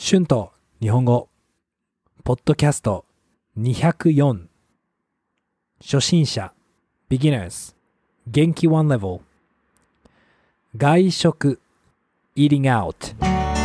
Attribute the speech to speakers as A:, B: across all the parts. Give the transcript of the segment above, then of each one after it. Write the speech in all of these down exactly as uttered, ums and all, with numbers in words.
A: 春と日本語ポッドキャストにひゃくよん初心者 Beginners 元気いちレベル外食 Eating out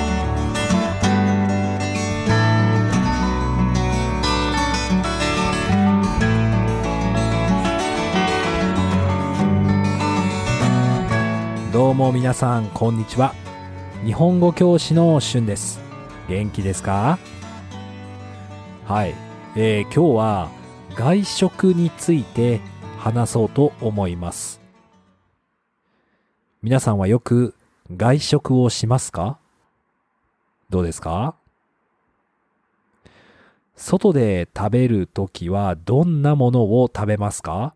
A: どうも皆さんこんにちは。日本語教師の春です。元気ですか？はい、えー、今日は外食について話そうと思います。皆さんはよく外食をしますか？どうですか？外で食べるときはどんなものを食べますか？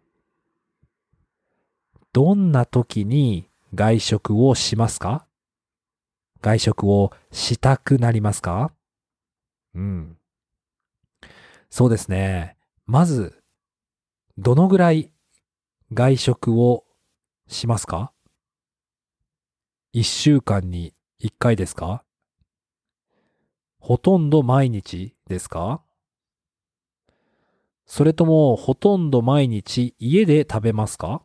A: どんなときに外食をしますか？外食をしたくなりますか？うん。そうですね。まず、どのぐらい外食をしますか？一週間に一回ですか？ほとんど毎日ですか？それともほとんど毎日家で食べますか？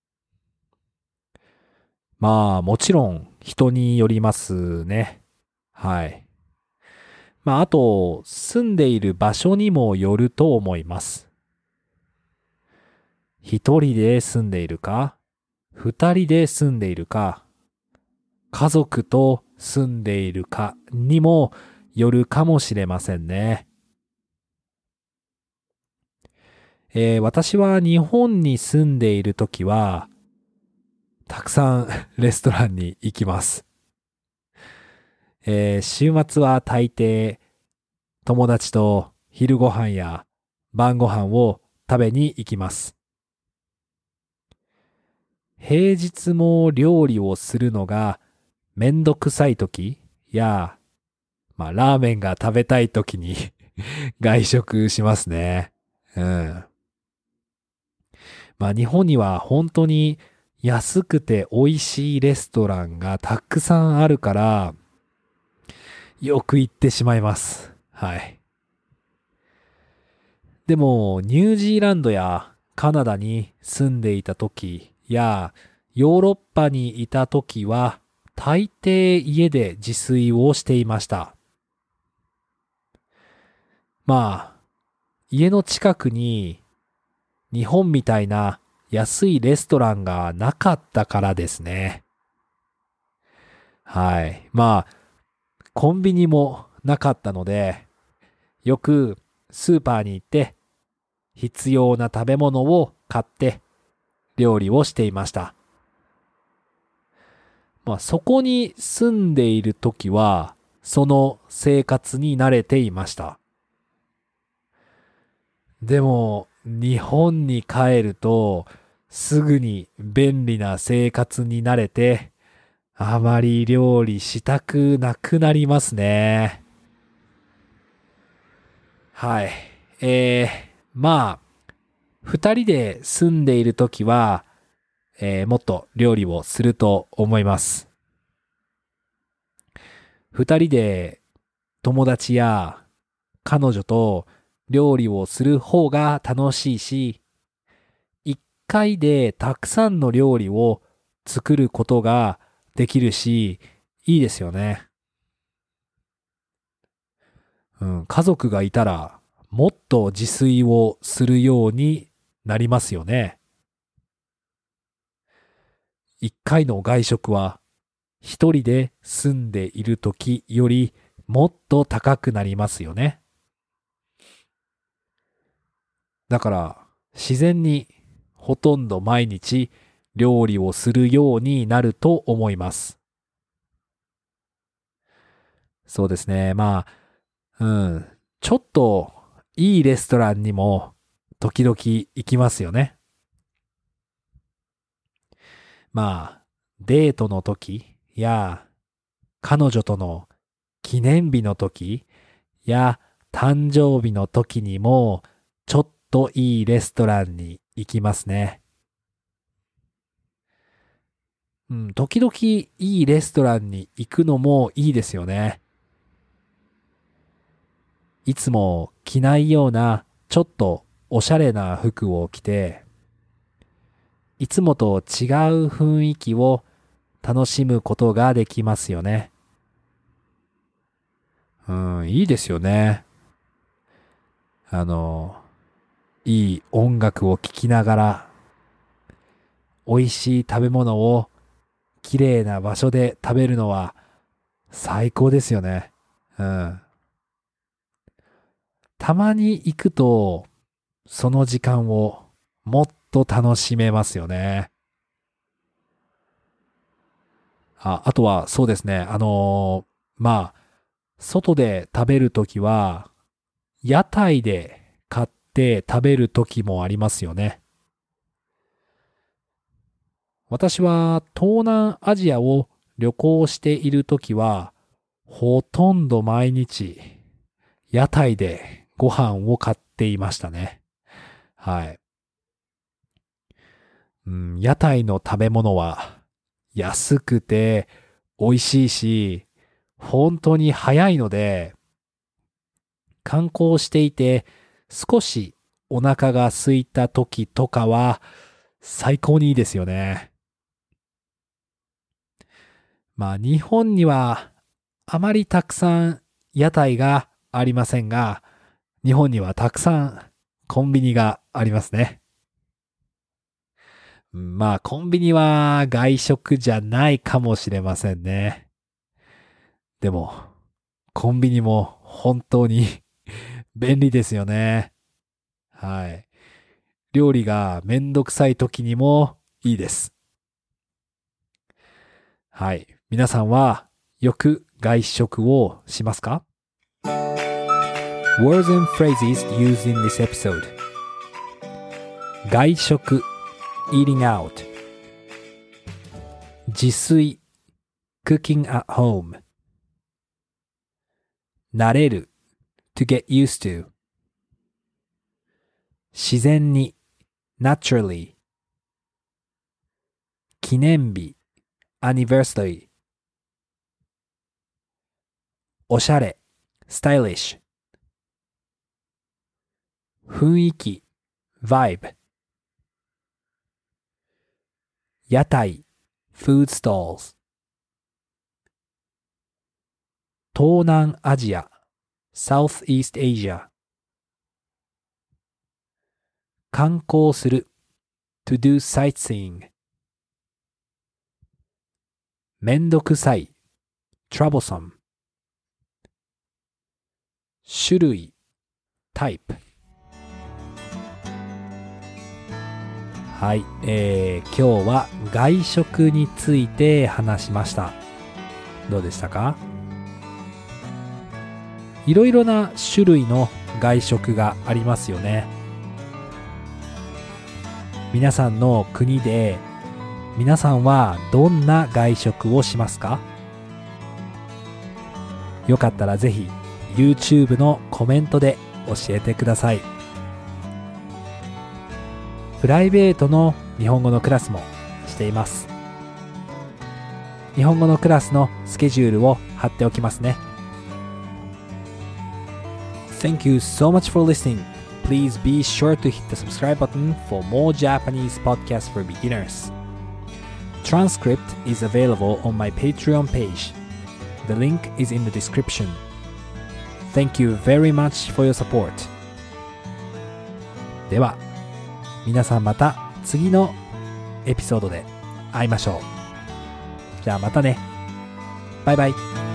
A: まあもちろん人によりますね。はい。まああと住んでいる場所にもよると思います。一人で住んでいるか、二人で住んでいるか、家族と住んでいるかにもよるかもしれませんね。えー私は日本に住んでいるときは、たくさんレストランに行きます。えー週末は大抵友達と昼ご飯や晩ご飯を食べに行きます。平日も料理をするのがめんどくさいときや、まあラーメンが食べたいときに外食しますね。うん。まあ日本には本当に安くて美味しいレストランがたくさんあるから、よく行ってしまいます。はい。でも、ニュージーランドやカナダに住んでいた時や、ヨーロッパにいた時は、大抵家で自炊をしていました。まあ、家の近くに日本みたいな安いレストランがなかったからですね。はい。まあ、コンビニもなかったので、よくスーパーに行って必要な食べ物を買って料理をしていました。まあそこに住んでいるときはその生活に慣れていました。でも日本に帰るとすぐに便利な生活に慣れてあまり料理したくなくなりますね。はい。えー、まあ、二人で住んでいるときは、えーもっと料理をすると思います。二人で友達や彼女と料理をする方が楽しいし、一回でたくさんの料理を作ることができるし、いいですよね。うん、家族がいたらもっと自炊をするようになりますよね。一回の外食は一人で住んでいる時よりもっと高くなりますよね。だから自然にほとんど毎日料理をするようになると思います。そうですね。まあ、うん。ちょっといいレストランにも時々行きますよね。まあ、デートの時や彼女との記念日の時や誕生日の時にもちょっといいレストランに行きますね。うん、時々いいレストランに行くのもいいですよね。 いつも着ないようなちょっとおしゃれな服を着て、いつもと違う雰囲気を楽しむことができますよね。うん、いいですよね。あの、いい音楽を聴きながら、美味しい食べ物を綺麗な場所で食べるのは最高ですよね。うん。たまに行くと、その時間をもっと楽しめますよね。あ、あとはそうですね。あのーまあ、外で食べるときは、屋台で買って食べるときもありますよね。私は東南アジアを旅行しているときは、ほとんど毎日、屋台でご飯を買っていましたね。はい。うん、屋台の食べ物は安くて美味しいし、本当に早いので、観光していて少しお腹が空いた時とかは最高にいいですよね。まあ日本にはあまりたくさん屋台がありませんが、日本にはたくさんコンビニがありますね。まあコンビニは外食じゃないかもしれませんね。でもコンビニも本当に便利ですよね。はい。料理がめんどくさい時にもいいです。はい。皆さんはよく外食をしますか？ Words and phrases used in this episode. 外食 eating out. 自炊 cooking at home. 慣れる to get used to. 自然に naturally. 記念日 anniversary. おしゃれ stylish. 雰囲気 vibe. 屋台 food stalls. 東南アジア Southeast Asia. 観光する to do sightseeing. めんどくさい troublesome. 種類 type. はい、えー、今日は外食について話しました。どうでしたか？いろいろな種類の外食がありますよね。皆さんの国で皆さんはどんな外食をしますか？よかったらぜひ YouTube のコメントで教えてください。プライベートの日本語のクラスもしています。日本語のクラスのスケジュールを貼っておきますね。Thank you so much for listening. Please be sure to hit the subscribe button for more Japanese podcasts for beginners. Transcript is available on my Patreon page. The link is in the description. Thank you very much for your support. では、皆さんまた次のエピソードで会いましょう。じゃあまたね。バイバイ。